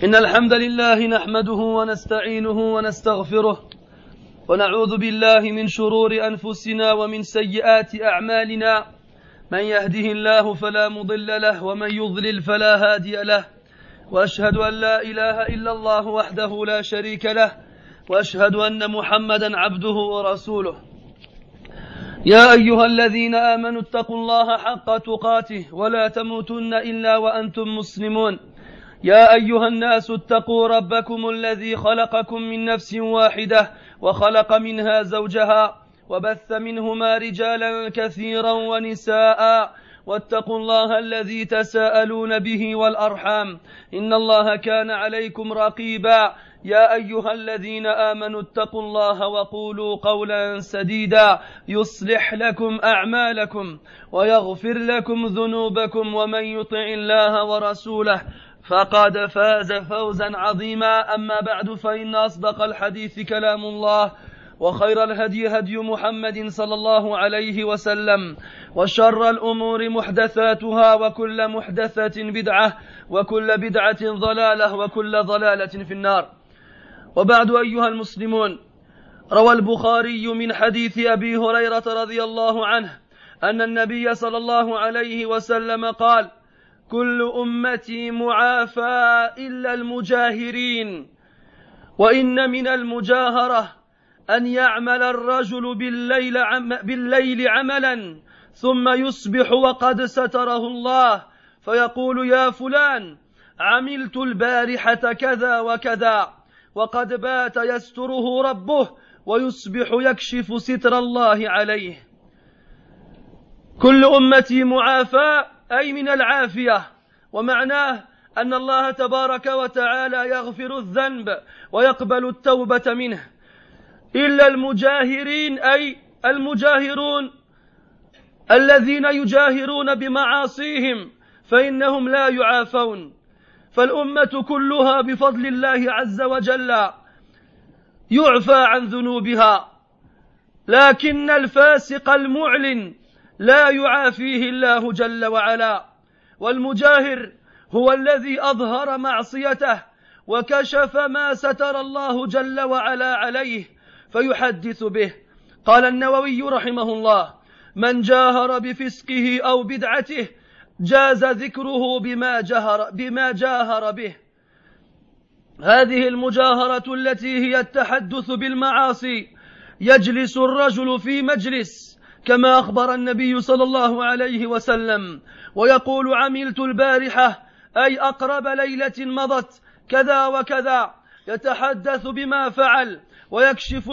إن الحمد لله نحمده ونستعينه ونستغفره ونعوذ بالله من شرور أنفسنا ومن سيئات أعمالنا من يهده الله فلا مضل له ومن يضلل فلا هادي له وأشهد أن لا إله إلا الله وحده لا شريك له وأشهد أن محمدا عبده ورسوله يا أيها الذين آمنوا اتقوا الله حق تقاته ولا تموتن إلا وأنتم مسلمون يا أيها الناس اتقوا ربكم الذي خلقكم من نفس واحدة وخلق منها زوجها وبث منهما رجالا كثيرا ونساء واتقوا الله الذي تساءلون به والأرحام إن الله كان عليكم رقيبا يا أيها الذين آمنوا اتقوا الله وقولوا قولا سديدا يصلح لكم أعمالكم ويغفر لكم ذنوبكم ومن يطع الله ورسوله فقد فاز فوزا عظيما أما بعد فإن أصدق الحديث كلام الله وخير الهدي هدي محمد صلى الله عليه وسلم وشر الأمور محدثاتها وكل محدثة بدعة وكل بدعة ضلالة وكل ضلالة في النار وبعد أيها المسلمون روى البخاري من حديث أبي هريرة رضي الله عنه أن النبي صلى الله عليه وسلم قال كل أمتي معافى إلا المجاهرين وإن من المجاهرة أن يعمل الرجل بالليل عملا ثم يصبح وقد ستره الله فيقول يا فلان عملت البارحة كذا وكذا وقد بات يستره ربه ويصبح يكشف ستر الله عليه. كل أمتي معافى أي من العافية، ومعناه أن الله تبارك وتعالى يغفر الذنب ويقبل التوبة منه، إلا المجاهرين أي المجاهرون الذين يجاهرون بمعاصيهم فإنهم لا يعافون. فالأمة كلها بفضل الله عز وجل يعفى عن ذنوبها، لكن الفاسق المعلن لا يعافيه الله جل وعلا. والمجاهر هو الذي أظهر معصيته وكشف ما ستر الله جل وعلا عليه فيحدث به. قال النووي رحمه الله من جاهر بفسقه أو بدعته جاز ذكره بما جاهر به. هذه المجاهرة التي هي التحدث بالمعاصي يجلس الرجل في مجلس كما أخبر النبي صلى الله عليه وسلم ويقول عملت البارحة أي أقرب ليلة مضت كذا وكذا، يتحدث بما فعل ويكشف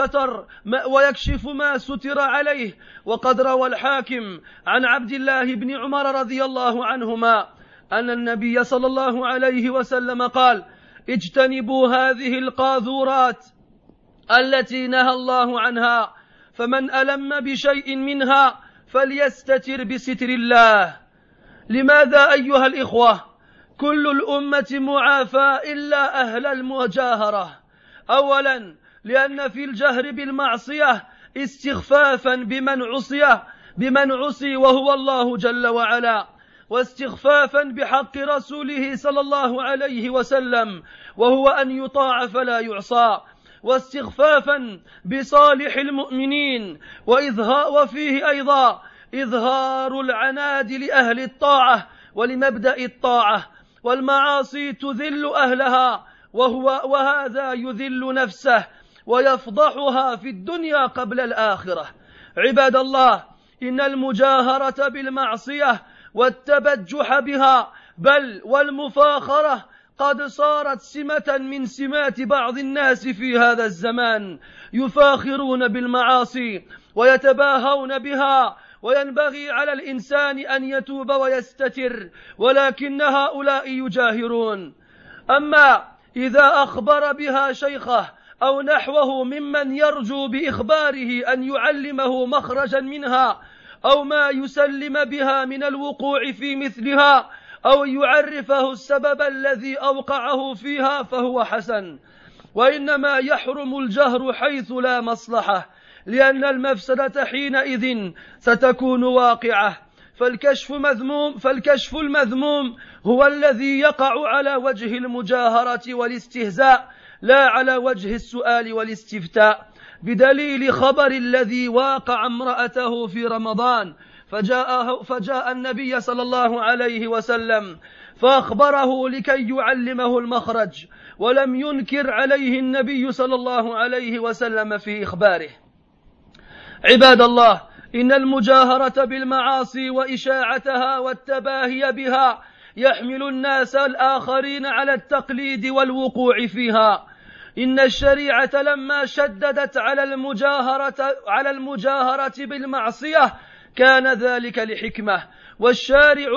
ما ستر عليه. وقد روى الحاكم عن عبد الله بن عمر رضي الله عنهما أن النبي صلى الله عليه وسلم قال اجتنبوا هذه القاذورات التي نهى الله عنها، فمن ألم بشيء منها فليستتر بستر الله. لماذا أيها الإخوة كل الأمة معافى إلا أهل المجاهرة؟ أولا لأن في الجهر بالمعصية استخفافا بمن عصي وهو الله جل وعلا، واستخفافا بحق رسوله صلى الله عليه وسلم وهو أن يطاع فلا يعصى، واستخفافا بصالح المؤمنين، وفيه أيضا إظهار العناد لأهل الطاعة ولمبدأ الطاعة. والمعاصي تذل أهلها وهذا يذل نفسه ويفضحها في الدنيا قبل الآخرة. عباد الله، إن المجاهرة بالمعصية والتبجح بها بل والمفاخرة قد صارت سمة من سمات بعض الناس في هذا الزمان، يفاخرون بالمعاصي ويتباهون بها، وينبغي على الإنسان أن يتوب ويستتر، ولكن هؤلاء يجاهرون. أما إذا أخبر بها شيخه أو نحوه ممن يرجو بإخباره أن يعلمه مخرجا منها أو ما يسلم بها من الوقوع في مثلها أو يعرفه السبب الذي أوقعه فيها فهو حسن، وإنما يحرم الجهر حيث لا مصلحة، لأن المفسدة حينئذ ستكون واقعة. فالكشف المذموم هو الذي يقع على وجه المجاهرة والاستهزاء لا على وجه السؤال والاستفتاء، بدليل خبر الذي واقع امرأته في رمضان فجاء النبي صلى الله عليه وسلم فأخبره لكي يعلمه المخرج، ولم ينكر عليه النبي صلى الله عليه وسلم في إخباره. عباد الله، إن المجاهرة بالمعاصي وإشاعتها والتباهي بها يحمل الناس الآخرين على التقليد والوقوع فيها. إن الشريعة لما شددت على المجاهرة بالمعصية كان ذلك لحكمة، والشارع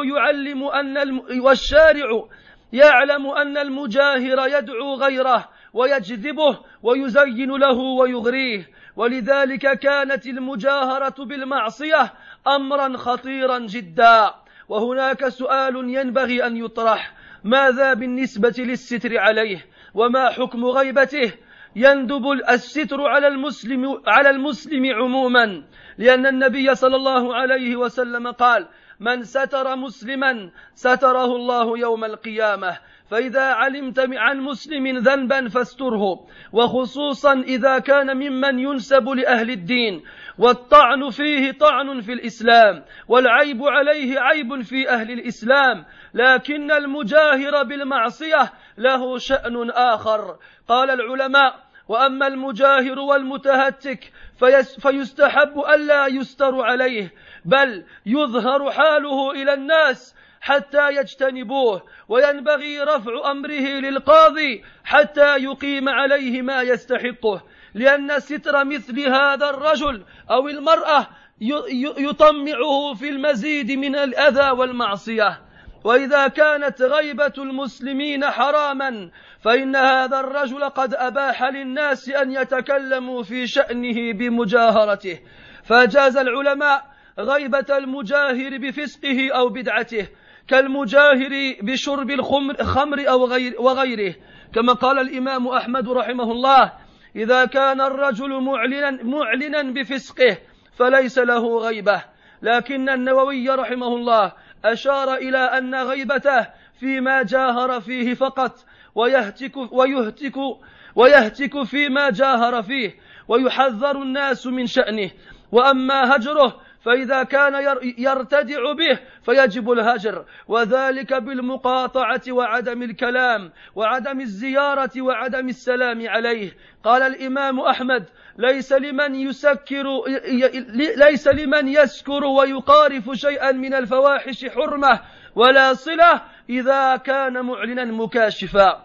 يعلم أن المجاهر يدعو غيره ويجذبه ويزين له ويغريه، ولذلك كانت المجاهرة بالمعصية أمرا خطيرا جدا. وهناك سؤال ينبغي أن يطرح: ماذا بالنسبة للستر عليه؟ وما حكم غيبته؟ يندب الستر على المسلم عموما، لأن النبي صلى الله عليه وسلم قال: من ستر مسلما ستره الله يوم القيامة. فإذا علمت عن مسلم ذنبا فاستره، وخصوصا إذا كان ممن ينسب لأهل الدين، والطعن فيه طعن في الإسلام، والعيب عليه عيب في أهل الإسلام. لكن المجاهر بالمعصية له شأن آخر. قال العلماء: وأما المجاهر والمتهتك فيستحب ألا يستر عليه، بل يظهر حاله إلى الناس حتى يجتنبوه، وينبغي رفع أمره للقاضي حتى يقيم عليه ما يستحقه، لأن ستر مثل هذا الرجل أو المرأة يطمعه في المزيد من الأذى والمعصية. وإذا كانت غيبة المسلمين حراما فإن هذا الرجل قد أباح للناس أن يتكلموا في شأنه بمجاهرته، فجاز العلماء غيبة المجاهر بفسقه أو بدعته، كالمجاهر بشرب الخمر أو وغيره، كما قال الإمام أحمد رحمه الله: إذا كان الرجل معلنا بفسقه فليس له غيبة. لكن النووي رحمه الله أشار إلى أن غيبته فيما جاهر فيه فقط، ويهتك فيما جاهر فيه، ويحذر الناس من شأنه. وأما هجره فإذا كان يرتدع به فيجب الهجر، وذلك بالمقاطعة وعدم الكلام وعدم الزيارة وعدم السلام عليه. قال الإمام أحمد: ليس لمن يسكر ويقارف شيئا من الفواحش حرمة ولا صلة إذا كان معلنا مكاشفا.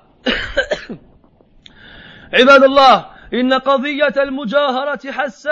عباد الله، إن قضية المجاهرة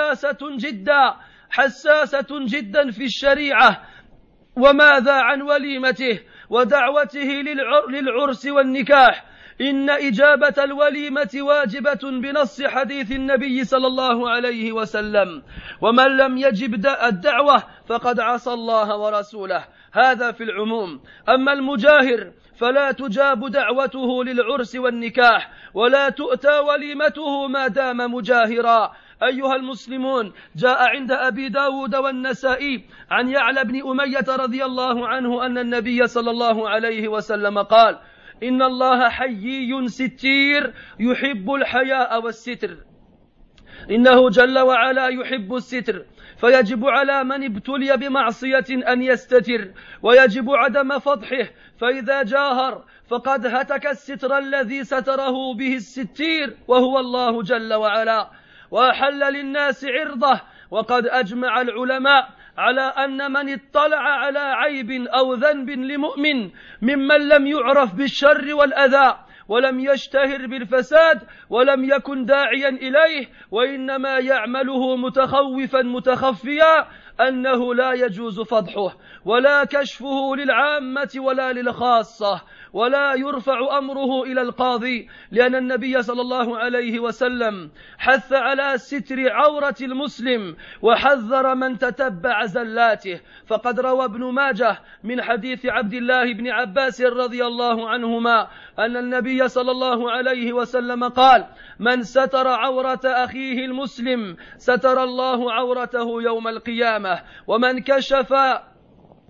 حساسة جدا في الشريعة. وماذا عن وليمته ودعوته للعرس والنكاح؟ إن إجابة الوليمة واجبة بنص حديث النبي صلى الله عليه وسلم: ومن لم يجب الدعوة فقد عصى الله ورسوله. هذا في العموم. أما المجاهر فلا تجاب دعوته للعرس والنكاح، ولا تؤتى وليمته ما دام مجاهرا. أيها المسلمون، جاء عند أبي داود والنسائي عن يعلى بن أمية رضي الله عنه أن النبي صلى الله عليه وسلم قال: إن الله حيي ستير يحب الحياء والستر. إنه جل وعلا يحب الستر، فيجب على من ابتلي بمعصية أن يستتر، ويجب عدم فضحه، فإذا جاهر فقد هتك الستر الذي ستره به الستير وهو الله جل وعلا، وأحل للناس عرضه. وقد أجمع العلماء على أن من اطلع على عيب أو ذنب لمؤمن ممن لم يعرف بالشر والأذى ولم يشتهر بالفساد ولم يكن داعيا إليه، وإنما يعمله متخوفا متخفيا، أنه لا يجوز فضحه ولا كشفه للعامة ولا للخاصة، ولا يرفع أمره إلى القاضي، لأن النبي صلى الله عليه وسلم حث على ستر عورة المسلم وحذر من تتبع زلاته. فقد روى ابن ماجه من حديث عبد الله بن عباس رضي الله عنهما أن النبي صلى الله عليه وسلم قال: من ستر عورة أخيه المسلم ستر الله عورته يوم القيامة،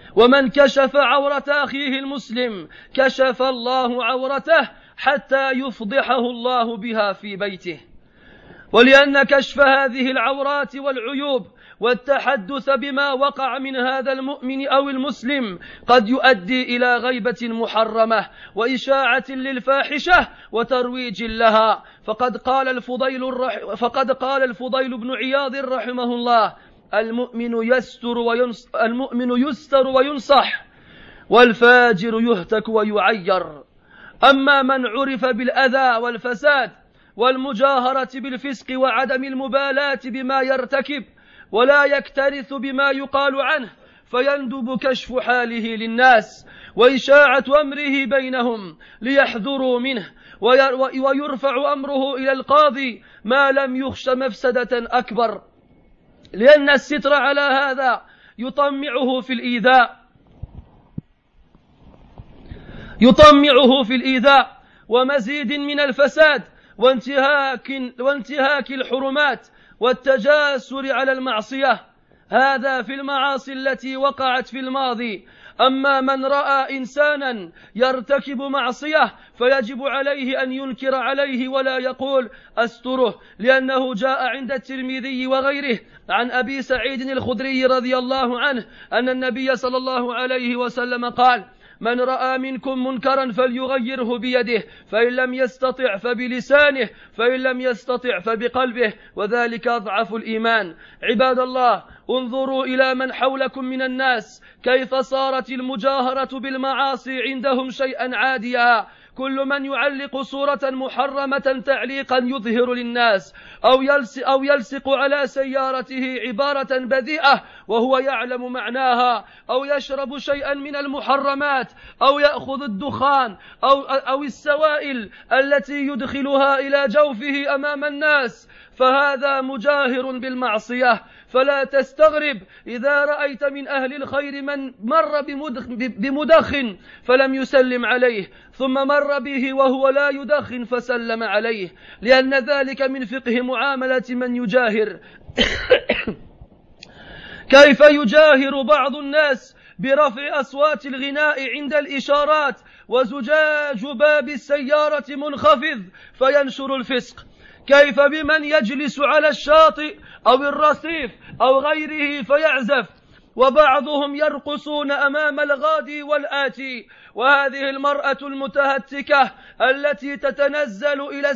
ومن كشف عورة أخيه المسلم كشف الله عورته حتى يفضحه الله بها في بيته. ولأن كشف هذه العورات والعيوب والتحدث بما وقع من هذا المؤمن أو المسلم قد يؤدي إلى غيبة محرمة وإشاعة للفاحشة وترويج لها. فقد قال الفضيل بن عياض رحمه الله: المؤمن يستر وينصح، والفاجر يهتك ويعير. أما من عرف بالأذى والفساد والمجاهرة بالفسق وعدم المبالاة بما يرتكب ولا يكترث بما يقال عنه، فيندب كشف حاله للناس وإشاعة أمره بينهم ليحذروا منه، ويرفع أمره إلى القاضي ما لم يخش مفسدة أكبر، لأن الستر على هذا يطمعه في الإيذاء ومزيد من الفساد وانتهاك الحرمات والتجاسر على المعصية. هذا في المعاصي التي وقعت في الماضي. أما من رأى إنسانا يرتكب معصية فيجب عليه أن ينكر عليه ولا يقول أستره، لأنه جاء عند الترمذي وغيره عن أبي سعيد الخدري رضي الله عنه أن النبي صلى الله عليه وسلم قال: من رأى منكم منكرا فليغيره بيده، فإن لم يستطع فبلسانه، فإن لم يستطع فبقلبه، وذلك أضعف الإيمان. عباد الله، انظروا إلى من حولكم من الناس كيف صارت المجاهرة بالمعاصي عندهم شيئا عاديا. كل من يعلق صورة محرمة تعليقا يظهر للناس أو يلصق على سيارته عبارة بذيئة وهو يعلم معناها، أو يشرب شيئا من المحرمات، أو يأخذ الدخان أو السوائل التي يدخلها إلى جوفه أمام الناس، فهذا مجاهر بالمعصية. فلا تستغرب إذا رأيت من أهل الخير من مر بمدخن فلم يسلم عليه، ثم مر به وهو لا يدخن فسلم عليه، لأن ذلك من فقه معاملة من يجاهر. كيف يجاهر بعض الناس برفع أصوات الغناء عند الإشارات وزجاج باب السيارة منخفض فينشر الفسق؟ كيف بمن يجلس على الشاطئ أو الرصيف أو غيره فيعزف؟ وبعضهم يرقصون أمام الغادي والآتي. وهذه المرأة المتهتكة التي تنزل إلى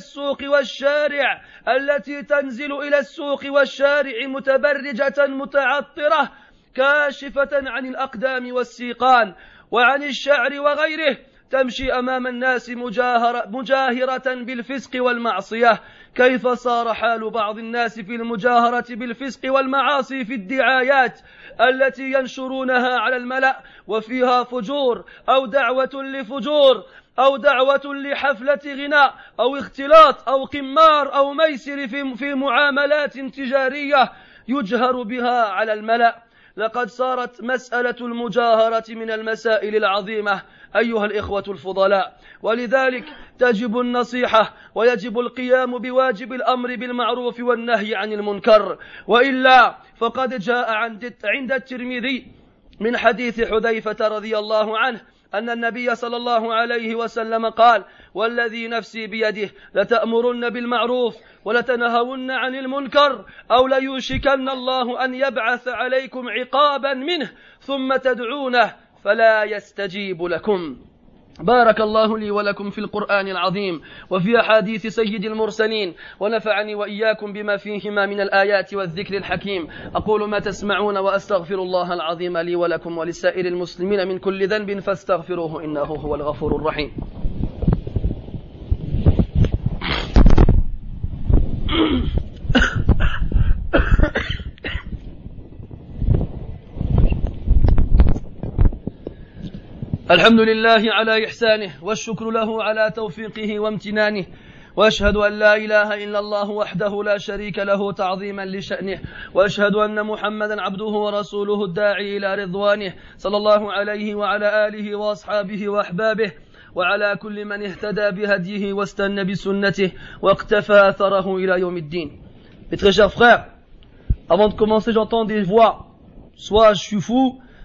السوق والشارع متبرجة متعطرة كاشفة عن الأقدام والسيقان وعن الشعر وغيره، تمشي أمام الناس مجاهرة بالفسق والمعصية. كيف صار حال بعض الناس في المجاهرة بالفسق والمعاصي في الدعايات التي ينشرونها على الملأ وفيها فجور أو دعوة لفجور أو دعوة لحفلة غناء أو اختلاط أو قمار أو ميسر في معاملات تجارية يجهر بها على الملأ. لقد صارت مسألة المجاهرة من المسائل العظيمة أيها الإخوة الفضلاء، ولذلك تجب النصيحة ويجب القيام بواجب الأمر بالمعروف والنهي عن المنكر، وإلا فقد جاء عند الترمذي من حديث حذيفة رضي الله عنه أن النبي صلى الله عليه وسلم قال: والذي نفسي بيده لتأمرن بالمعروف ولتنهون عن المنكر أو ليوشكن الله أن يبعث عليكم عقابا منه ثم تدعونه فلا يستجيب لكم. بارك الله لي ولكم في القرآن العظيم وفي أحاديث سيد المرسلين، ونفعني وإياكم بما فيهما من الآيات والذكر الحكيم. أقول ما تسمعون وأستغفر الله العظيم لي ولكم ولسائر المسلمين من كل ذنب فاستغفروه إنه هو الغفور الرحيم. الحمد لله على إحسانه والشكر له على توفيقه وامتنانه، وأشهد أن لا إله إلا الله وحده لا شريك له تعظيما لشأنه، وأشهد أن محمدا عبده ورسوله الداعي إلى رضوانه صلى الله عليه وعلى آله وأصحابه وأحبابه وعلى كل من اهتدى بهديه واستنى بسنته واقتفى أثره إلى يوم الدين. Mes très chers frères, avant de commencer, j'entends des voix. Soit je suis fou,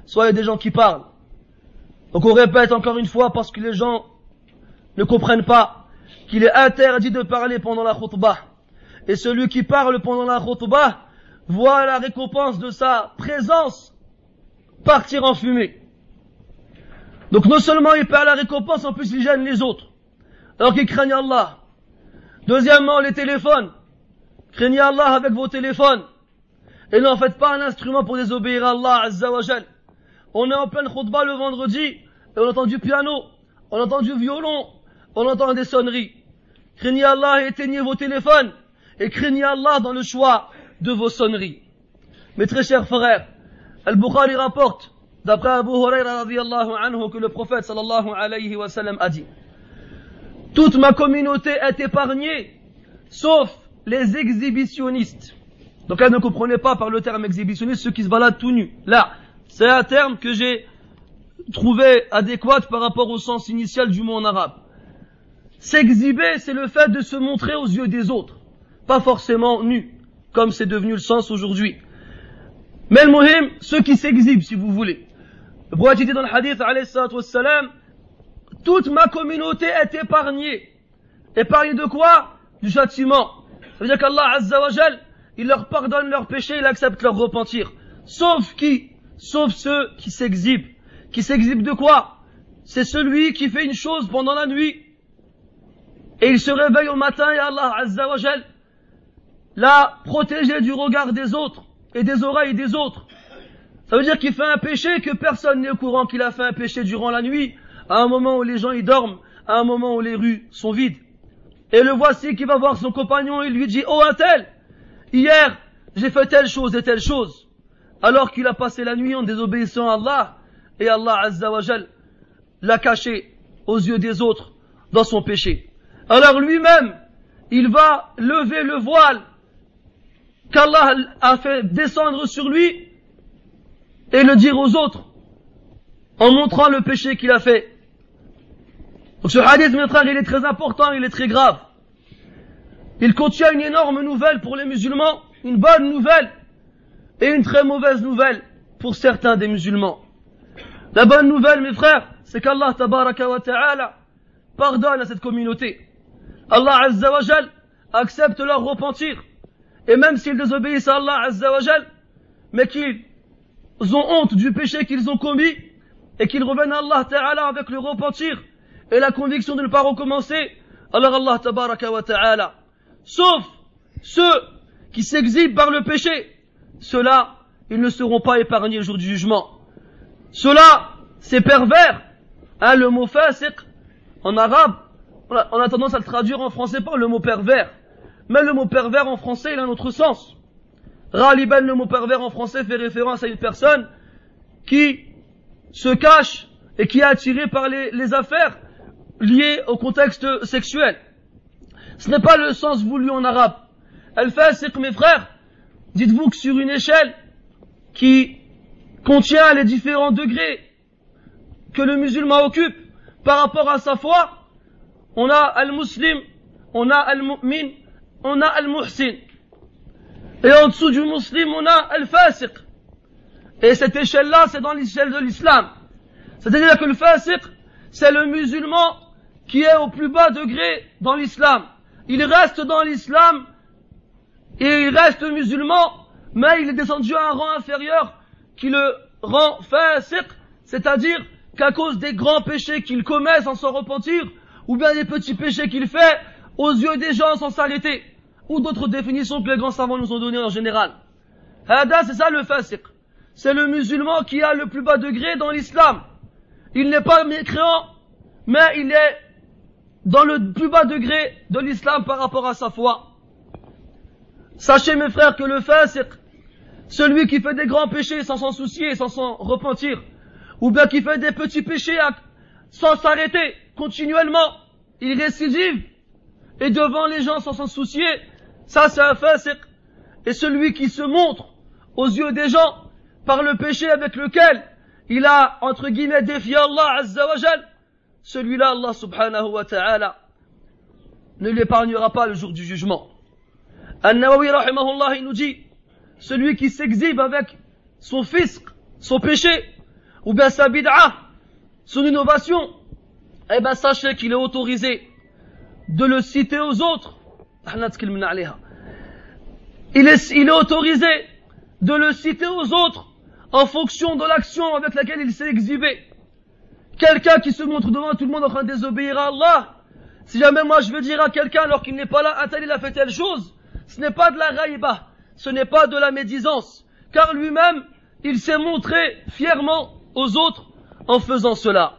soit il y a des gens qui parlent. Donc on répète encore une fois parce que les gens ne comprennent pas qu'il est interdit de parler pendant la khutbah. Et celui qui parle pendant la khutbah voit la récompense de sa présence partir en fumée. Donc non seulement il perd la récompense, en plus il gêne les autres. Alors qu'ils craignent Allah. Deuxièmement, les téléphones. Craignez Allah avec vos téléphones. Et n'en faites pas un instrument pour désobéir à Allah Azza wa Jal. On est en pleine khutbah le vendredi, et on entend du piano, on entend du violon, on entend des sonneries. Craignez Allah et éteignez vos téléphones, et craignez Allah dans le choix de vos sonneries. Mes très chers frères, Al-Bukhari rapporte, d'après Abu Huraira radiyallahu anhu, que le prophète sallallahu alayhi wa sallam a dit: toute ma communauté est épargnée, sauf les exhibitionnistes. Donc là, ne comprenez pas par le terme exhibitionniste ceux qui se baladent tout nus. Là, c'est un terme que j'ai trouvé adéquat par rapport au sens initial du mot en arabe. S'exhiber, c'est le fait de se montrer aux yeux des autres, pas forcément nu, comme c'est devenu le sens aujourd'hui. Mais le muhim, ceux qui s'exhibent, si vous voulez. Le prophète dit dans le hadith, alayhi salatu wassalam, toute ma communauté est épargnée. Épargnée de quoi? Du châtiment. Ça veut dire qu'Allah Azza wa Jal, il leur pardonne leurs péchés, il accepte leur repentir. Sauf qui? Sauf ceux qui s'exhibent. Qui s'exhibent de quoi? C'est celui qui fait une chose pendant la nuit, et il se réveille au matin, et Allah Azza wa Jal l'a protégé du regard des autres, et des oreilles des autres. Ça veut dire qu'il fait un péché que personne n'est au courant qu'il a fait un péché durant la nuit, à un moment où les gens y dorment, à un moment où les rues sont vides. Et le voici qui va voir son compagnon, et lui dit: oh un tel, hier j'ai fait telle chose et telle chose, alors qu'il a passé la nuit en désobéissant à Allah, et Allah Azza wa Jal l'a caché aux yeux des autres dans son péché. Alors lui-même, il va lever le voile qu'Allah a fait descendre sur lui et le dire aux autres en montrant le péché qu'il a fait. Donc ce hadith, mes frères, il est très important, il est très grave. Il contient une énorme nouvelle pour les musulmans, une bonne nouvelle et une très mauvaise nouvelle pour certains des musulmans. La bonne nouvelle, mes frères, c'est qu'Allah tabaraka wa ta'ala pardonne à cette communauté. Allah Azza wa Jal accepte leur repentir. Et même s'ils désobéissent à Allah Azza wa Jal, mais qu'ils ont honte du péché qu'ils ont commis, et qu'ils reviennent à Allah Ta'ala avec le repentir et la conviction de ne pas recommencer, alors Allah Tabaraka wa Ta'ala, sauf ceux qui s'exhibent par le péché, ceux-là, ils ne seront pas épargnés le jour du jugement. Ceux-là, c'est pervers. Le mot fasiq, en arabe, on a tendance à le traduire en français par le mot pervers. Mais le mot pervers en français, il a un autre sens. Ghaliban, le mot pervers en français fait référence à une personne qui se cache et qui est attirée par les affaires liées au contexte sexuel. Ce n'est pas le sens voulu en arabe. Al-fasiq, mes frères, dites-vous que sur une échelle qui contient les différents degrés que le musulman occupe par rapport à sa foi, on a al-muslim, on a al-mu'min, on a al-muhsin. Et en dessous du muslim, on a al-fasiq. Et cette échelle-là, c'est dans l'échelle de l'islam. C'est-à-dire que le fasiq, c'est le musulman qui est au plus bas degré dans l'islam. Il reste dans l'islam et il reste musulman, mais il est descendu à un rang inférieur qui le rend fasiq, c'est-à-dire qu'à cause des grands péchés qu'il commet sans s'en repentir, ou bien des petits péchés qu'il fait aux yeux des gens sans s'arrêter, ou d'autres définitions que les grands savants nous ont données en général. Hada, c'est ça le fasiq. C'est le musulman qui a le plus bas degré dans l'islam. Il n'est pas mécréant, mais il est dans le plus bas degré de l'islam par rapport à sa foi. Sachez, mes frères, que le fasiq, celui qui fait des grands péchés sans s'en soucier, sans s'en repentir, ou bien qui fait des petits péchés sans s'arrêter continuellement, il récidive, et devant les gens sans s'en soucier, ça c'est un fasiq. Et celui qui se montre aux yeux des gens par le péché avec lequel il a, entre guillemets, défié Allah Azza wa Jal, celui-là, Allah subhanahu wa ta'ala ne l'épargnera pas le jour du jugement. An-Nawawi rahimahullah, il nous dit, celui qui s'exhibe avec son fisq, son péché, ou bien sa bid'a, son innovation, eh ben sachez qu'il est autorisé de le citer aux autres. Il est autorisé de le citer aux autres en fonction de l'action avec laquelle il s'est exhibé. Quelqu'un qui se montre devant tout le monde en train de désobéir à Allah, si jamais moi je veux dire à quelqu'un alors qu'il n'est pas là, un tel il a fait telle chose, ce n'est pas de la raïba, ce n'est pas de la médisance, car lui-même, il s'est montré fièrement aux autres en faisant cela.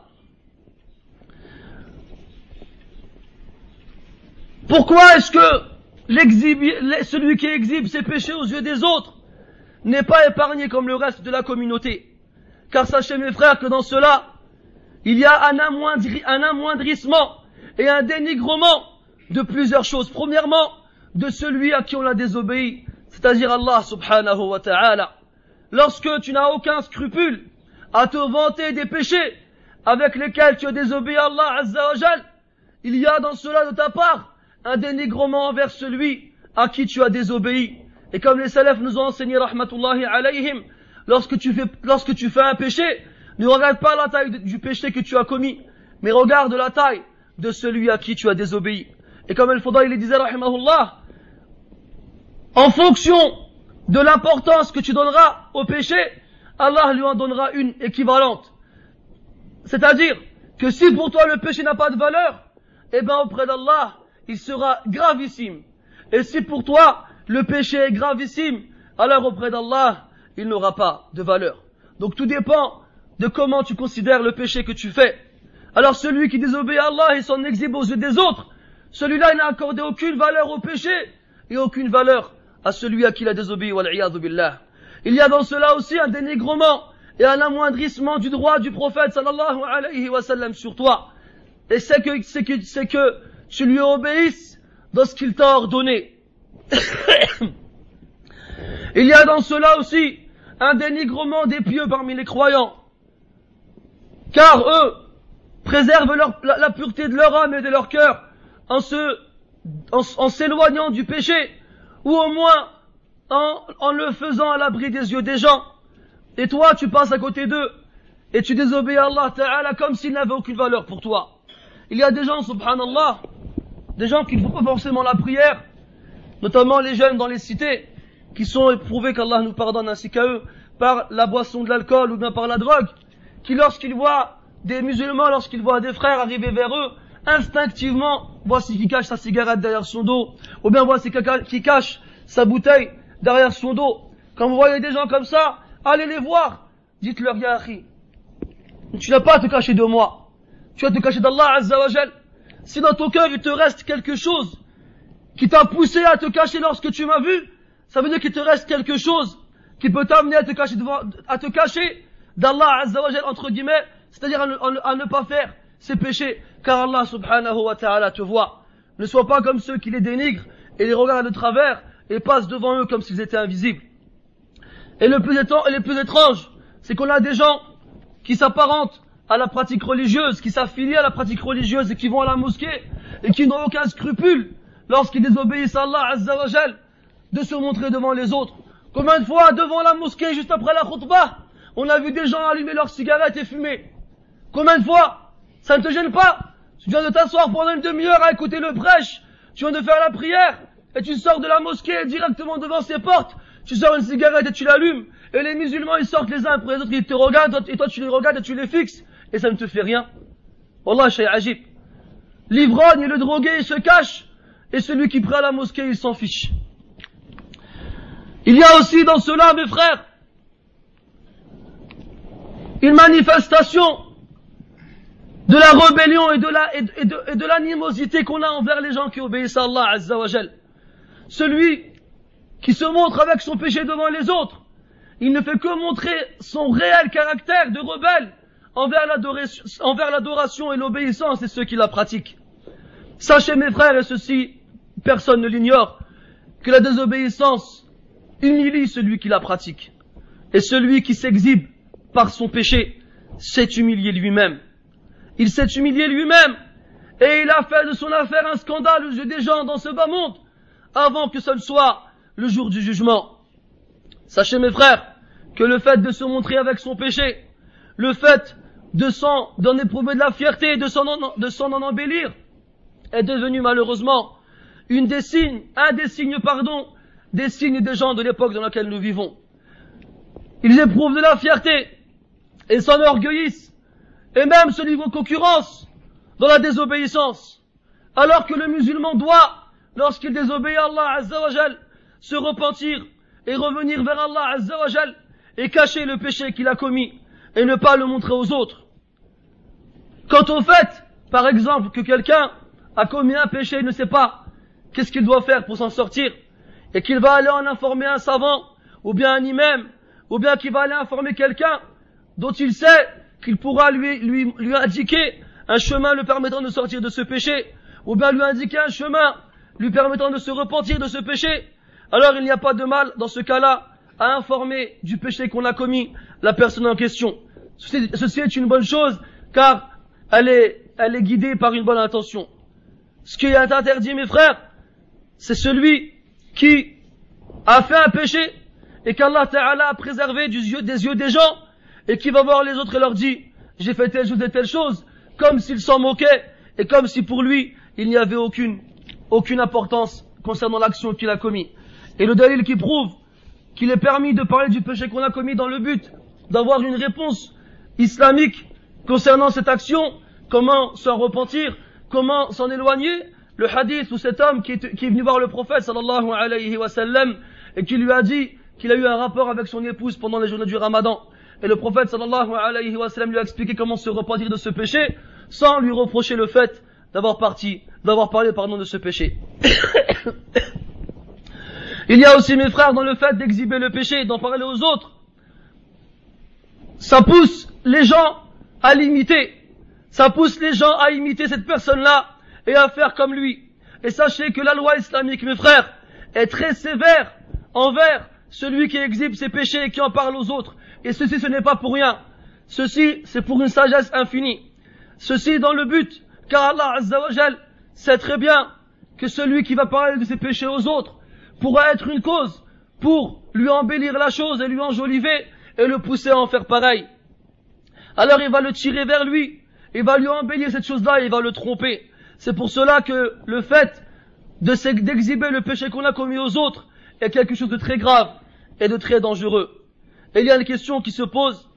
Pourquoi est-ce que celui qui exhibe ses péchés aux yeux des autres n'est pas épargné comme le reste de la communauté? Car sachez mes frères que dans cela, il y a un amoindrissement et un dénigrement de plusieurs choses. Premièrement, de celui à qui on l'a désobéi, c'est-à-dire Allah subhanahu wa ta'ala. Lorsque tu n'as aucun scrupule à te vanter des péchés avec lesquels tu as désobéi à Allah azza wa jal, il y a dans cela de ta part un dénigrement envers celui à qui tu as désobéi. Et comme les salafs nous ont enseigné rahmatullahi alayhim, lorsque tu fais un péché, ne regarde pas la taille du péché que tu as commis, mais regarde la taille de celui à qui tu as désobéi. Et comme Al-Fudayl disait rahimahullah, en fonction de l'importance que tu donneras au péché, Allah lui en donnera une équivalente. C'est-à-dire que si pour toi le péché n'a pas de valeur, eh ben auprès d'Allah, il sera gravissime. Et si pour toi le péché est gravissime, alors auprès d'Allah, il n'aura pas de valeur. Donc tout dépend de comment tu considères le péché que tu fais. Alors celui qui désobéit à Allah et s'en exhibe aux yeux des autres, celui-là il n'a accordé aucune valeur au péché et aucune valeur à celui à qui il a désobéi, wal-iyadhu billah. Il y a dans cela aussi un dénigrement et un amoindrissement du droit du prophète sallallahu alayhi wa sallam sur toi. Et c'est que tu lui obéisses dans ce qu'il t'a ordonné. Il y a dans cela aussi un dénigrement des pieux parmi les croyants, car eux préservent la pureté de leur âme et de leur cœur en s'éloignant du péché, ou au moins en le faisant à l'abri des yeux des gens. Et toi tu passes à côté d'eux et tu désobéis à Allah Ta'ala comme s'il n'avait aucune valeur pour toi. Il y a des gens, subhanallah, des gens qui ne font pas forcément la prière, notamment les jeunes dans les cités, qui sont éprouvés, qu'Allah nous pardonne ainsi qu'à eux, par la boisson de l'alcool ou bien par la drogue, qui lorsqu'ils voient des musulmans, lorsqu'ils voient des frères arriver vers eux, instinctivement, voici qui cache sa cigarette derrière son dos, ou bien voici qui cache sa bouteille derrière son dos. Quand vous voyez des gens comme ça, allez les voir, dites-leur, ya akhi, tu n'as pas à te cacher de moi, tu vas te cacher d'Allah azza wa jal. Si dans ton cœur il te reste quelque chose qui t'a poussé à te cacher lorsque tu m'as vu, ça veut dire qu'il te reste quelque chose qui peut t'amener à te cacher d'Allah azza wa jal, entre guillemets, c'est-à-dire à ne pas faire ces péchés, car Allah subhanahu wa ta'ala te voit. Ne sois pas comme ceux qui les dénigrent et les regardent de travers et passent devant eux comme s'ils étaient invisibles. Et le plus étrange, c'est qu'on a des gens qui s'apparentent à la pratique religieuse, qui s'affilient à la pratique religieuse et qui vont à la mosquée et qui n'ont aucun scrupule lorsqu'ils désobéissent à Allah azza wa jal de se montrer devant les autres. Combien de fois devant la mosquée juste après la khutbah, on a vu des gens allumer leurs cigarettes et fumer? Combien de fois? Ça ne te gêne pas? Tu viens de t'asseoir pendant une demi-heure à écouter le prêche, tu viens de faire la prière et tu sors de la mosquée directement devant ses portes, tu sors une cigarette et tu l'allumes, et les musulmans ils sortent les uns après les autres, ils te regardent et toi tu les regardes et tu les fixes et ça ne te fait rien. Wallah shay ajib. L'ivrogne et le drogué il se cache et celui qui prie à la mosquée il s'en fiche. Il y a aussi dans cela, mes frères, une manifestation de la rébellion et de l'animosité qu'on a envers les gens qui obéissent à Allah azza wa jal. Celui qui se montre avec son péché devant les autres, il ne fait que montrer son réel caractère de rebelle envers l'adoration et l'obéissance de ceux qui la pratiquent. Sachez mes frères, et ceci personne ne l'ignore, que la désobéissance humilie celui qui la pratique. Et celui qui s'exhibe par son péché s'est humilié lui-même. Il s'est humilié lui-même et il a fait de son affaire un scandale aux yeux des gens dans ce bas monde avant que ce ne soit le jour du jugement. Sachez mes frères que le fait de se montrer avec son péché, le fait d'en éprouver de la fierté, de s'en en embellir, est devenu malheureusement un des signes des gens de l'époque dans laquelle nous vivons. Ils éprouvent de la fierté et s'enorgueillissent, et même se livrent aux concurrences dans la désobéissance, alors que le musulman doit, lorsqu'il désobéit à Allah Azza wa Jal, se repentir et revenir vers Allah Azza wa Jal et cacher le péché qu'il a commis et ne pas le montrer aux autres. Quant au fait, par exemple, que quelqu'un a commis un péché et ne sait pas qu'est-ce qu'il doit faire pour s'en sortir, et qu'il va aller en informer un savant, ou bien un imam, ou bien qu'il va aller informer quelqu'un dont il sait qu'il pourra lui indiquer un chemin lui permettant de sortir de ce péché, ou bien lui indiquer un chemin lui permettant de se repentir de ce péché, alors il n'y a pas de mal dans ce cas-là à informer du péché qu'on a commis la personne en question. Ceci est une bonne chose, car elle est guidée par une bonne intention. Ce qui est interdit, mes frères, c'est celui qui a fait un péché et qu'Allah Ta'ala a préservé des yeux des gens et qui va voir les autres et leur dit « J'ai fait telle chose et telle chose », comme s'il s'en moquait et comme si pour lui il n'y avait aucune importance concernant l'action qu'il a commise. Et le dalil qui prouve qu'il est permis de parler du péché qu'on a commis dans le but d'avoir une réponse islamique concernant cette action, comment s'en repentir, comment s'en éloigner, le hadith où cet homme qui est venu voir le prophète sallallahu alayhi wa sallam et qui lui a dit qu'il a eu un rapport avec son épouse pendant les journées du Ramadan. Et le prophète sallallahu alayhi wa sallam lui a expliqué comment se repentir de ce péché sans lui reprocher le fait d'avoir parlé de ce péché. Il y a aussi, mes frères, dans le fait d'exhiber le péché et d'en parler aux autres, ça pousse les gens à l'imiter. Ça pousse les gens à imiter cette personne-là et à faire comme lui. Et sachez que la loi islamique, mes frères, est très sévère envers celui qui exhibe ses péchés et qui en parle aux autres. Et ceci, ce n'est pas pour rien. Ceci, c'est pour une sagesse infinie. Ceci dans le but, car Allah Azza wa Jal sait très bien que celui qui va parler de ses péchés aux autres pourra être une cause pour lui embellir la chose et lui enjoliver et le pousser à en faire pareil. Alors il va le tirer vers lui, il va lui embellir cette chose-là et il va le tromper. C'est pour cela que le fait d'exhiber le péché qu'on a commis aux autres est quelque chose de très grave et de très dangereux. Et il y a une question qui se pose,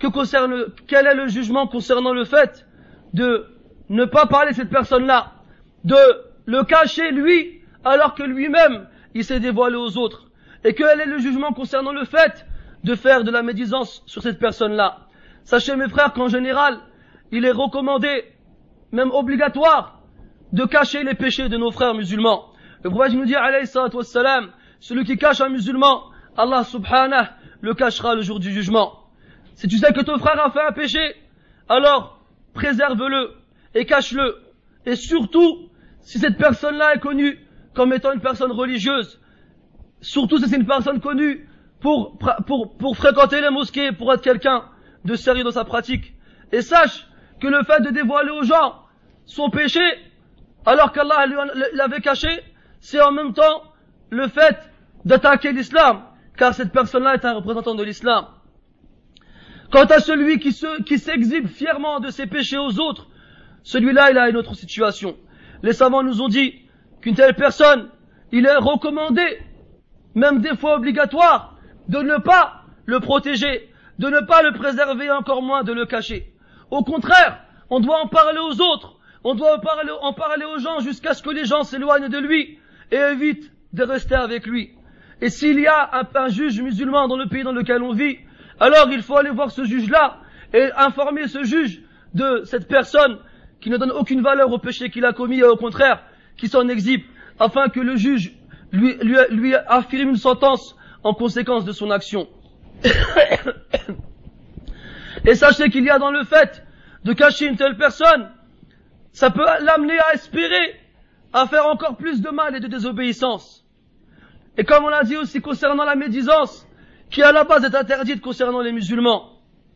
quel est le jugement concernant le fait de ne pas parler de cette personne-là, de le cacher lui, alors que lui-même, il s'est dévoilé aux autres. Et quel est le jugement concernant le fait de faire de la médisance sur cette personne-là? Sachez, mes frères, qu'en général, il est recommandé, même obligatoire, de cacher les péchés de nos frères musulmans. Le prophète nous dit, alayhi salatu wassalam, celui qui cache un musulman, Allah subhanahu le cachera le jour du jugement. Si tu sais que ton frère a fait un péché, alors préserve-le et cache-le. Et surtout, si cette personne-là est connue comme étant une personne religieuse, surtout si c'est une personne connue pour fréquenter les mosquées, pour être quelqu'un de sérieux dans sa pratique. Et sache que le fait de dévoiler aux gens son péché, alors qu'Allah l'avait caché, c'est en même temps le fait d'attaquer l'islam, car cette personne-là est un représentant de l'islam. Quant à celui qui s'exhibe fièrement de ses péchés aux autres, celui-là, il a une autre situation. Les savants nous ont dit qu'une telle personne, il est recommandé, même des fois obligatoire, de ne pas le protéger, de ne pas le préserver et encore moins de le cacher. Au contraire, on doit en parler aux autres, on doit en parler aux gens jusqu'à ce que les gens s'éloignent de lui et évitent de rester avec lui. Et s'il y a un juge musulman dans le pays dans lequel on vit, alors il faut aller voir ce juge-là et informer ce juge de cette personne qui ne donne aucune valeur au péché qu'il a commis et au contraire qui s'en exhibe, afin que le juge lui affirme une sentence en conséquence de son action. Et sachez qu'il y a dans le fait de cacher une telle personne, ça peut l'amener à espérer à faire encore plus de mal et de désobéissance. Et comme on l'a dit aussi concernant la médisance, qui à la base est interdite concernant les musulmans,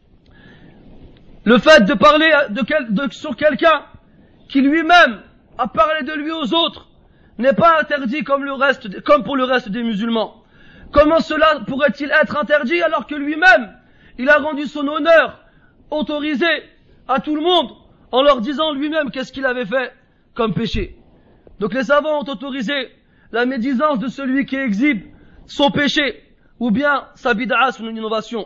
le fait de parler sur quelqu'un qui lui-même a parlé de lui aux autres n'est pas interdit comme pour le reste des musulmans. Comment cela pourrait-il être interdit alors que lui-même, il a rendu son honneur autorisé à tout le monde en leur disant lui-même qu'est-ce qu'il avait fait comme péché. Donc les savants ont autorisé la médisance de celui qui exhibe son péché ou bien sa bid'a, son innovation.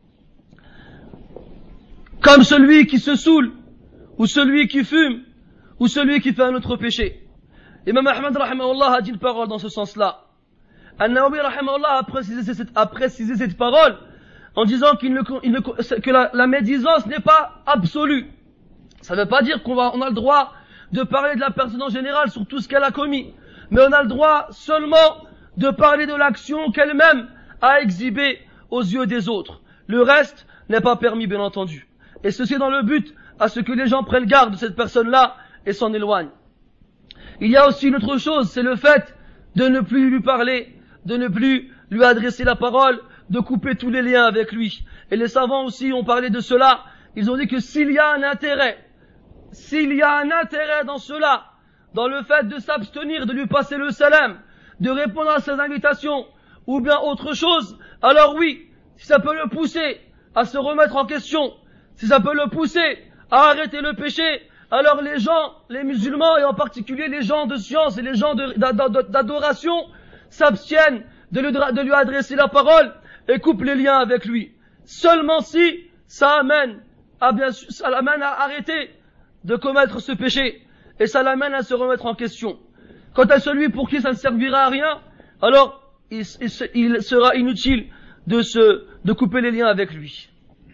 Comme celui qui se saoule, ou celui qui fume, ou celui qui fait un autre péché. Imam Ahmad rahimahullah a dit une parole dans ce sens-là. An-Nawawi rahimahullah a précisé cette parole en disant que la médisance n'est pas absolue. Ça ne veut pas dire qu'on a le droit de parler de la personne en général sur tout ce qu'elle a commis, mais on a le droit seulement de parler de l'action qu'elle-même a exhibée aux yeux des autres. Le reste n'est pas permis, bien entendu. Et ceci dans le but à ce que les gens prennent garde de cette personne-là et s'en éloignent. Il y a aussi une autre chose, c'est le fait de ne plus lui parler, de ne plus lui adresser la parole, de couper tous les liens avec lui. Et les savants aussi ont parlé de cela. Ils ont dit que s'il y a un intérêt dans cela, dans le fait de s'abstenir, de lui passer le salam, de répondre à ses invitations, ou bien autre chose, alors oui, si ça peut le pousser à se remettre en question, si ça peut le pousser à arrêter le péché, alors les gens, les musulmans et en particulier les gens de science et les gens d'adoration s'abstiennent de lui adresser la parole et coupent les liens avec lui. Seulement si ça l'amène à arrêter de commettre ce péché et ça l'amène à se remettre en question. Quant à celui pour qui ça ne servira à rien, alors il sera inutile de couper les liens avec lui.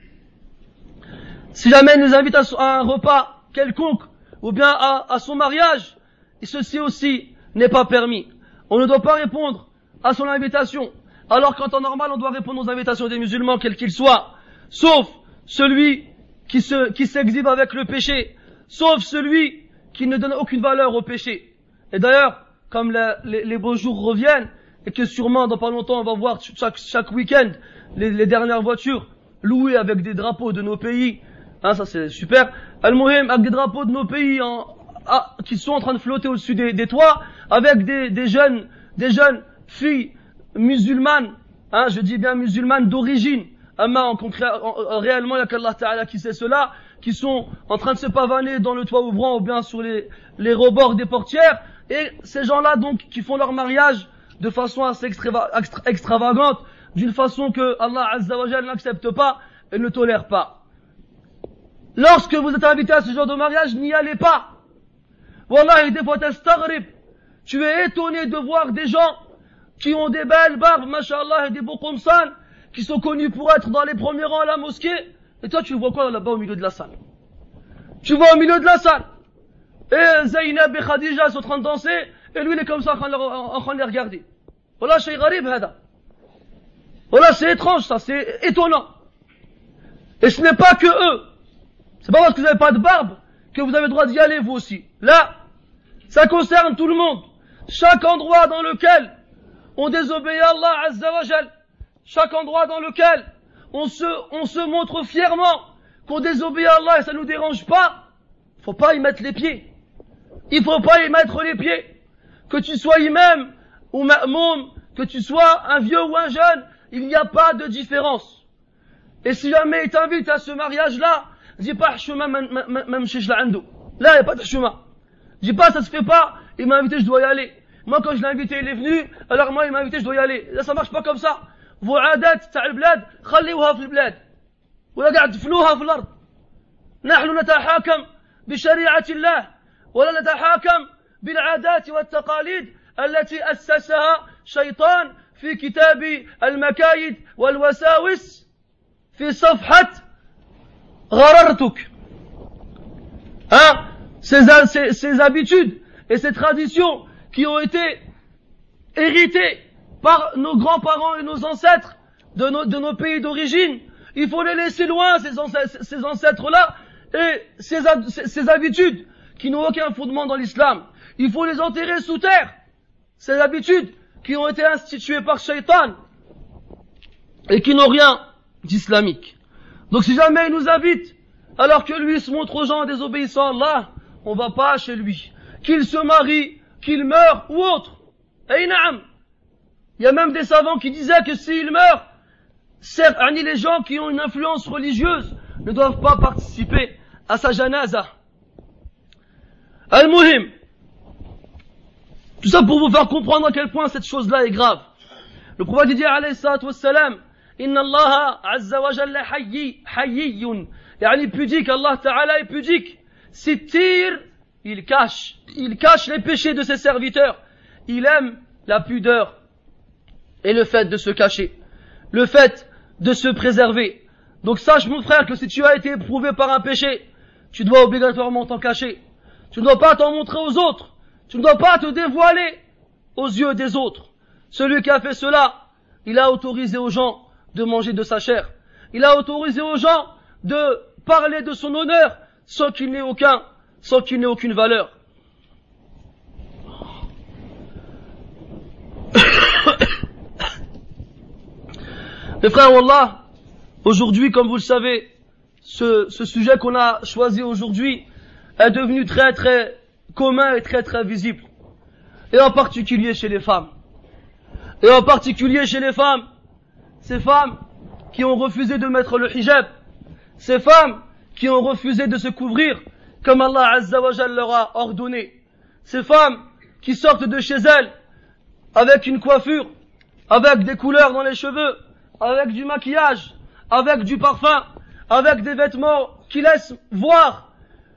Si jamais il nous invite à un repas quelconque, ou bien à son mariage, ceci aussi n'est pas permis. On ne doit pas répondre à son invitation, alors qu'en temps normal on doit répondre aux invitations des musulmans, quels qu'ils soient, sauf celui qui s'exhibe avec le péché, sauf celui qui ne donne aucune valeur au péché. Et d'ailleurs, comme les beaux jours reviennent, et que sûrement dans pas longtemps on va voir chaque week-end les dernières voitures louées avec des drapeaux de nos pays, hein, ça c'est super. Al-Muhim, avec des drapeaux de nos pays qui sont en train de flotter au-dessus des toits, avec des jeunes filles musulmanes, hein, je dis bien musulmanes d'origine, réellement il y a qu'Allah Ta'ala qui sait cela, qui sont en train de se pavaner dans le toit ouvrant ou bien sur les rebords des portières, et ces gens-là donc qui font leur mariage de façon assez extravagante, d'une façon que Allah Azza wa Jalla n'accepte pas et ne tolère pas. Lorsque vous êtes invité à ce genre de mariage, n'y allez pas. Wallahi, des fois t'astaghrib. Tu es étonné de voir des gens qui ont des belles barbes, mashallah, et des beaux qomsan, qui sont connus pour être dans les premiers rangs à la mosquée, et toi tu vois quoi là-bas au milieu de la salle? Tu vois au milieu de la salle, et Zaynab et Khadija sont en train de danser, et lui il est comme ça en train de les regarder. Voilà, shay gharib hada. Voilà, c'est étrange ça, c'est étonnant. Et ce n'est pas que eux. C'est pas parce que vous n'avez pas de barbe que vous avez le droit d'y aller vous aussi. Là, ça concerne tout le monde. Chaque endroit dans lequel on désobéit à Allah Azza wa Jal, chaque endroit dans lequel on se montre fièrement qu'on désobéit à Allah et ça nous dérange pas, faut pas y mettre les pieds. Il faut pas y mettre les pieds. Que tu sois imam ou ma'moum, que tu sois un vieux ou un jeune, il n'y a pas de différence. Et si jamais il t'invite à ce mariage-là, dis pas chemin même chez l'ando. Là, il n'y a pas de chemin. Dis pas ça se fait pas, il m'a invité, je dois y aller. Moi quand je l'ai invité, il est venu, alors moi il m'a invité, je dois y aller. Là ça marche pas comme ça. Vos عادات تاع البلاد خليوها في البلاد ولا قاعد تفنوها في الارض. نحن نتحاكم بشريعة الله ولا نتحاكم بالعادات والتقاليد التي أسسها شيطان في كتاب المكايد والوساوس في صفحة غررتك. Hein? Ces habitudes et ces traditions qui ont été héritées par nos grands-parents et nos ancêtres de nos pays d'origine, il faut les laisser loin, ces ancêtres-là, et ces habitudes qui n'ont aucun fondement dans l'islam. Il faut les enterrer sous terre. Ces habitudes qui ont été instituées par Shaitan et qui n'ont rien d'islamique. Donc si jamais il nous invite, alors que lui se montre aux gens désobéissants à Allah, on va pas chez lui. Qu'il se marie, qu'il meure ou autre. Et na'am. Il y a même des savants qui disaient que s'il meurt, les gens qui ont une influence religieuse ne doivent pas participer à sa janaza. Al-Muhim. Tout ça pour vous faire comprendre à quel point cette chose-là est grave. Le prophète dit alayhi salatu wassalam, Inna Allah azza wa jalla hayyiyun. Yani pudique, Allah ta'ala est pudique. Sittir, il cache les péchés de ses serviteurs. Il aime la pudeur et le fait de se cacher, le fait de se préserver. Donc sache mon frère que si tu as été éprouvé par un péché, tu dois obligatoirement t'en cacher. Tu ne dois pas t'en montrer aux autres. Tu ne dois pas te dévoiler aux yeux des autres. Celui qui a fait cela, il a autorisé aux gens de manger de sa chair. Il a autorisé aux gens de parler de son honneur sans qu'il n'ait aucune valeur. Mes frères, Wallah, aujourd'hui, comme vous le savez, ce sujet qu'on a choisi aujourd'hui est devenu très très commun et très très visible. Et en particulier chez les femmes. Et en particulier chez les femmes, ces femmes qui ont refusé de mettre le hijab, ces femmes qui ont refusé de se couvrir comme Allah Azza wa Jalla leur a ordonné, ces femmes qui sortent de chez elles avec une coiffure, avec des couleurs dans les cheveux, avec du maquillage, avec du parfum, avec des vêtements qui laissent voir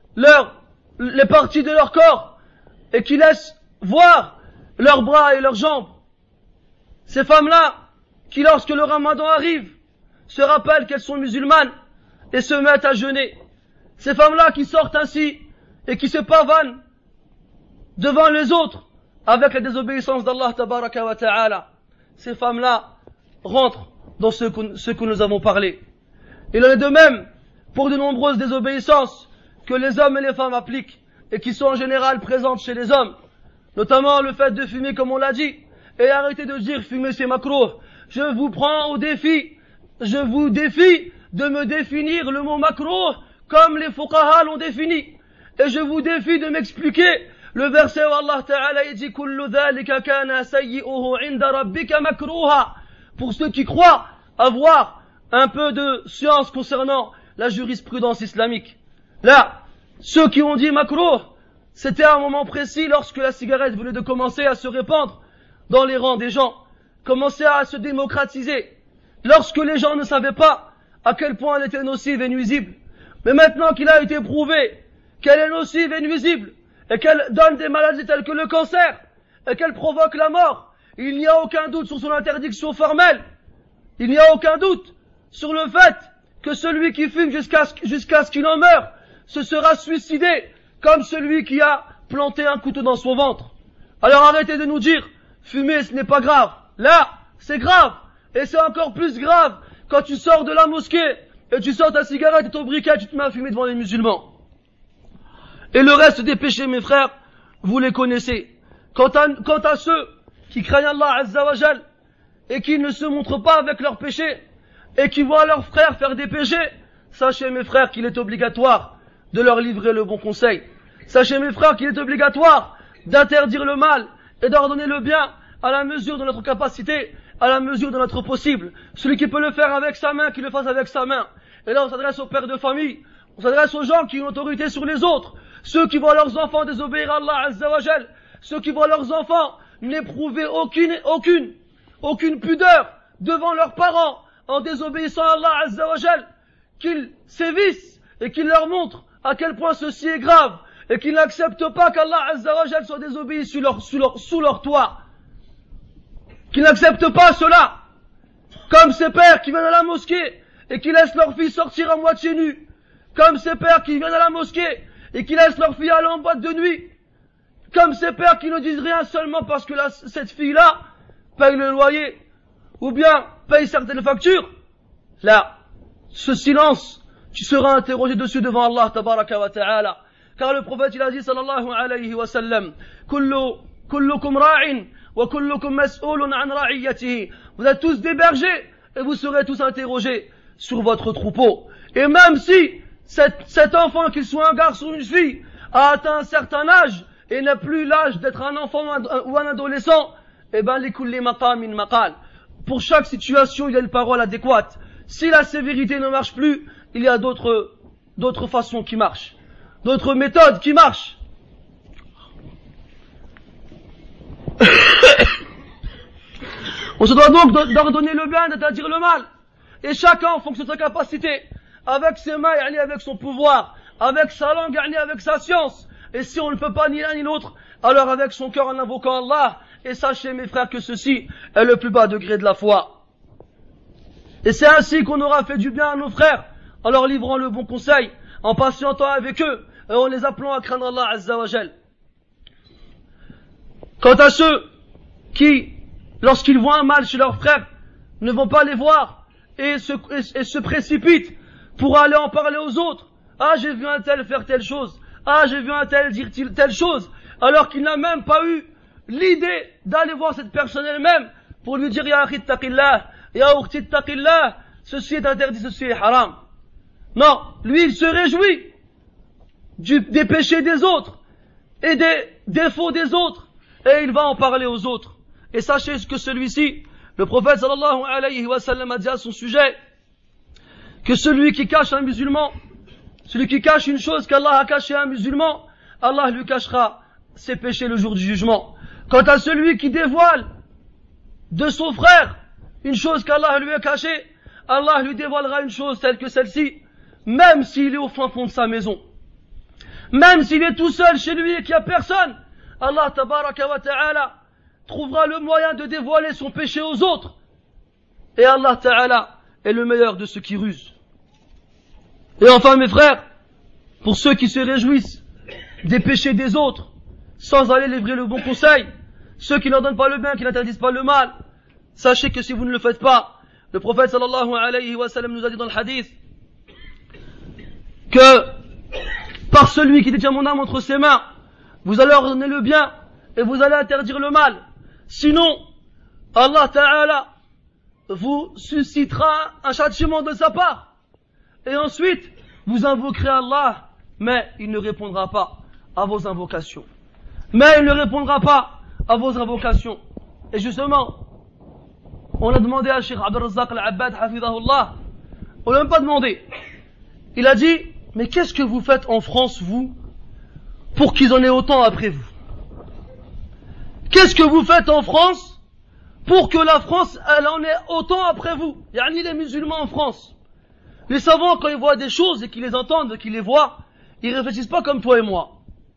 les parties de leur corps et qui laissent voir leurs bras et leurs jambes. Ces femmes-là, qui lorsque le ramadan arrive, se rappellent qu'elles sont musulmanes et se mettent à jeûner. Ces femmes-là qui sortent ainsi et qui se pavanent devant les autres avec la désobéissance d'Allah tabaraka wa ta'ala. Ces femmes-là rentrent dans ce que nous avons parlé. Il en est de même pour de nombreuses désobéissances que les hommes et les femmes appliquent et qui sont en général présentes chez les hommes. Notamment le fait de fumer comme on l'a dit. Et arrêtez de dire fumer c'est makrouh. Je vous prends au défi. Je vous défie de me définir le mot makrouh comme les fuqaha l'ont défini. Et je vous défie de m'expliquer le verset où Allah Ta'ala dit kullu dhalika kana sayyi'uhu 'inda rabbika makruha. Pour ceux qui croient avoir un peu de science concernant la jurisprudence islamique. Là, ceux qui ont dit makrouh, c'était à un moment précis lorsque la cigarette venait de commencer à se répandre dans les rangs des gens, commençait à se démocratiser, lorsque les gens ne savaient pas à quel point elle était nocive et nuisible. Mais maintenant qu'il a été prouvé qu'elle est nocive et nuisible, et qu'elle donne des maladies telles que le cancer, et qu'elle provoque la mort, il n'y a aucun doute sur son interdiction formelle. Il n'y a aucun doute sur le fait que celui qui fume jusqu'à ce qu'il en meure, se sera suicidé comme celui qui a planté un couteau dans son ventre. Alors arrêtez de nous dire, fumer ce n'est pas grave. Là, c'est grave. Et c'est encore plus grave quand tu sors de la mosquée et tu sors ta cigarette et ton briquet, tu te mets à fumer devant les musulmans. Et le reste des péchés, mes frères, vous les connaissez. Quant à ceux qui craignent Allah Azza wa Jal et qui ne se montrent pas avec leurs péchés et qui voient leurs frères faire des péchés, sachez mes frères qu'il est obligatoire de leur livrer le bon conseil. Sachez mes frères qu'il est obligatoire d'interdire le mal et d'ordonner le bien à la mesure de notre capacité, à la mesure de notre possible. Celui qui peut le faire avec sa main, qu'il le fasse avec sa main. Et là on s'adresse aux pères de famille, on s'adresse aux gens qui ont autorité sur les autres, ceux qui voient leurs enfants désobéir à Allah Azza wa Jal, ceux qui voient leurs enfants n'éprouver aucune pudeur devant leurs parents en désobéissant à Allah Azza wa Jal, qu'ils sévissent et qu'ils leur montrent à quel point ceci est grave et qu'ils n'acceptent pas qu'Allah Azza wa Jal soit désobéi sous leur toit. Qu'ils n'acceptent pas cela. Comme ces pères qui viennent à la mosquée et qui laissent leurs filles sortir à moitié nues. Comme ces pères qui viennent à la mosquée et qui laissent leurs filles aller en boîte de nuit. Comme ces pères qui ne disent rien seulement parce que cette fille-là paye le loyer ou bien paye certaines factures. Là, ce silence, tu seras interrogé dessus devant Allah tabaraka wa ta'ala. Car le prophète il a dit sallallahu alayhi wa sallam, kullukum ra'in wa kullukum mas'ulun an ra'iyatihi. Vous êtes tous des bergers et vous serez tous interrogés sur votre troupeau. Et même si cet enfant, qu'il soit un garçon ou une fille, a atteint un certain âge et n'a plus l'âge d'être un enfant ou un adolescent, eh ben, likulli maqamin maqal. Pour chaque situation, il y a une parole adéquate. Si la sévérité ne marche plus, il y a d'autres façons qui marchent, d'autres méthodes qui marchent. On se doit donc d'ordonner le bien, d'interdire le mal. Et chacun, en fonction de sa capacité, avec ses mains, avec son pouvoir, avec sa langue, avec sa science. Et si on ne peut pas ni l'un ni l'autre, alors avec son cœur en invoquant Allah. Et sachez, mes frères, que ceci est le plus bas degré de la foi. Et c'est ainsi qu'on aura fait du bien à nos frères, en leur livrant le bon conseil, en patientant avec eux, et en les appelant à craindre Allah Azza wa Jal. Quant à ceux qui, lorsqu'ils voient un mal chez leurs frères, ne vont pas les voir et se précipitent pour aller en parler aux autres. Ah, j'ai vu un tel faire telle chose. Ah, j'ai vu un tel dire telle chose. Alors qu'il n'a même pas eu l'idée d'aller voir cette personne elle-même pour lui dire, Ya akhi taqillah, Ya ukhti taqillah, ceci est interdit, ceci est haram. Non, lui il se réjouit des péchés des autres et des défauts des autres et il va en parler aux autres. Et sachez que celui-ci, le prophète sallallahu alayhi wa sallam a dit à son sujet que celui qui cache un musulman, celui qui cache une chose qu'Allah a cachée à un musulman, Allah lui cachera ses péchés le jour du jugement. Quant à celui qui dévoile de son frère une chose qu'Allah lui a cachée, Allah lui dévoilera une chose telle que celle-ci, même s'il est au fin fond de sa maison. Même s'il est tout seul chez lui et qu'il n'y a personne, Allah tabaraka wa ta'ala trouvera le moyen de dévoiler son péché aux autres. Et Allah ta'ala est le meilleur de ceux qui rusent. Et enfin mes frères, pour ceux qui se réjouissent des péchés des autres, sans aller livrer le bon conseil, ceux qui n'en donnent pas le bien, qui n'interdisent pas le mal, sachez que si vous ne le faites pas, le prophète sallallahu alayhi wa sallam nous a dit dans le hadith que par celui qui détient mon âme entre ses mains, vous allez ordonner le bien et vous allez interdire le mal. Sinon, Allah Ta'ala vous suscitera un châtiment de sa part. Et ensuite, vous invoquerez Allah, mais il ne répondra pas à vos invocations. Mais il ne répondra pas à vos invocations. Et justement, on a demandé à Cheikh Abdel Razzaq Al-Abbad, hafidahullah, on n'a même pas demandé. Il a dit, mais qu'est-ce que vous faites en France, vous, pour qu'ils en aient autant après vous? Qu'est-ce que vous faites en France pour que la France, elle en ait autant après vous? Yani les musulmans en France. Les savants, quand ils voient des choses et qu'ils les entendent, qu'ils les voient, ils réfléchissent pas comme toi et moi.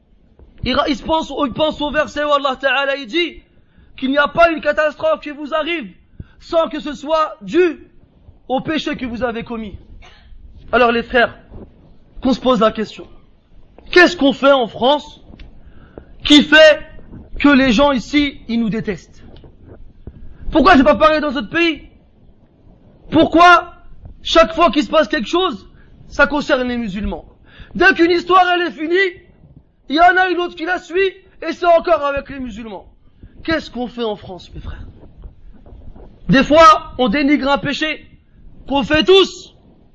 Ils pensent au verset où Allah Ta'ala il dit qu'il n'y a pas une catastrophe qui vous arrive sans que ce soit dû au péché que vous avez commis. Alors les frères, qu'on se pose la question. Qu'est-ce qu'on fait en France qui fait que les gens ici, ils nous détestent? Pourquoi c'est pas pareil dans d'autres pays? Pourquoi chaque fois qu'il se passe quelque chose, ça concerne les musulmans? Dès qu'une histoire elle est finie, il y en a une autre qui la suit, et c'est encore avec les musulmans. Qu'est-ce qu'on fait en France, mes frères? Des fois, on dénigre un péché qu'on fait tous.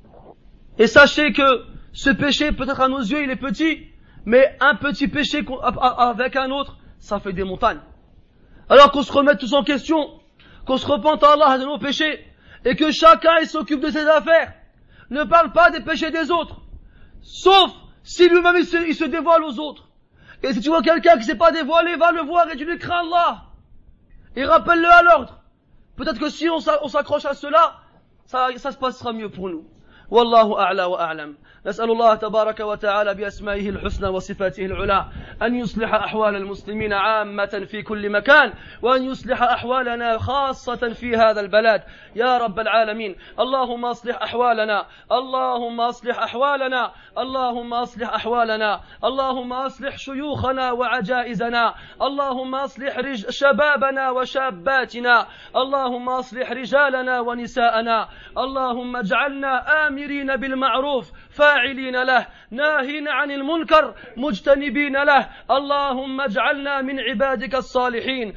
Et sachez que ce péché, peut-être à nos yeux, il est petit, mais un petit péché avec un autre, ça fait des montagnes. Alors qu'on se remette tous en question, qu'on se repente à Allah de nos péchés, et que chacun il s'occupe de ses affaires. Ne parle pas des péchés des autres, sauf si lui-même il se dévoile aux autres. Et si tu vois quelqu'un qui ne s'est pas dévoilé, va le voir et tu lui crains Allah. Et rappelle-le à l'ordre. Peut-être que si on s'accroche à cela, ça se passera mieux pour nous. والله أعلى وأعلم. نسأل الله تبارك وتعالى بأسمائه الحسنى وصفاته العلى أن يصلح أحوال المسلمين عامة في كل مكان وأن يصلح أحوالنا خاصة في هذا البلد يا رب العالمين. اللهم أصلح أحوالنا، اللهم أصلح أحوالنا، اللهم أصلح أحوالنا، اللهم أصلح شيوخنا وعجائزنا، اللهم أصلح شبابنا وشاباتنا، اللهم أصلح رجالنا ونساءنا، اللهم اجعلنا آمرين بالمعروف فاعلين له، ناهين عن المنكر مجتنبين له. اللهم اجعلنا من عبادك الصالحين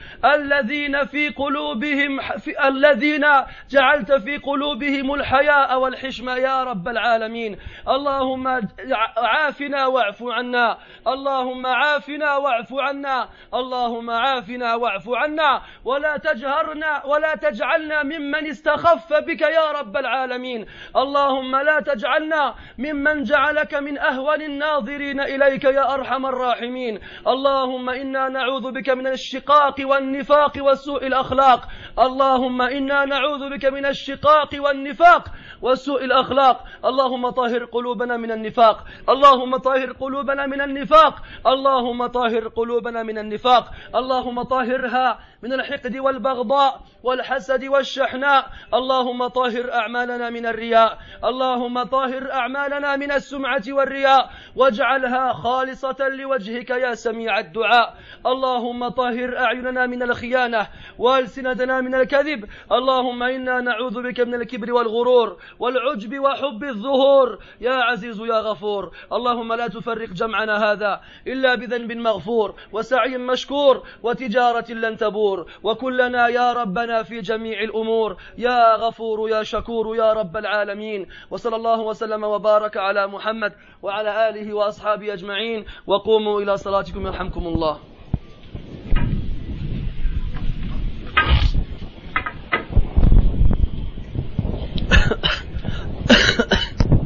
الذين جعلت في قلوبهم الحياء والحشمة يا رب العالمين. اللهم عافنا واعف عنا، اللهم عافنا واعف عنا، اللهم عافنا واعف عنا، ولا تجعلنا ممن استخف بك يا رب العالمين. اللهم اللهم لا تجعلنا ممن جعلك من أهون الناظرين إليك يا أرحم الراحمين. اللهم إنا نعوذ بك من الشقاق والنفاق وسوء الأخلاق. اللهم إنا نعوذ بك من الشقاق والنفاق وسوء الأخلاق. اللهم طهر قلوبنا من النفاق. اللهم طهر قلوبنا من النفاق. اللهم طهر قلوبنا من النفاق. اللهم طهرها من الحقد والبغضاء والحسد والشحناء. اللهم طهر أعمالنا من الرياء. اللهم طهر أعمالنا من السمعة والرياء واجعلها خالصة لوجهك يا سميع الدعاء. اللهم طهر أعيننا من الخيانة وألسنتنا من الكذب. اللهم إنا نعوذ بك من الكبر والغرور والعجب وحب الظهور يا عزيز يا غفور. اللهم لا تفرق جمعنا هذا إلا بذنب مغفور وسعي مشكور وتجارة لن تبور. وكلنا يا ربنا في جميع الأمور يا غفور يا شكور يا رب العالمين. وصلى الله وسلم وبارك على محمد وعلى آله وأصحابه أجمعين. وقوموا إلى صلاتكم يرحمكم الله.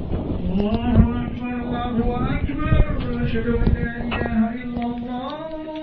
الله أكبر الله أكبر. أشهد أن لا إله إلا الله.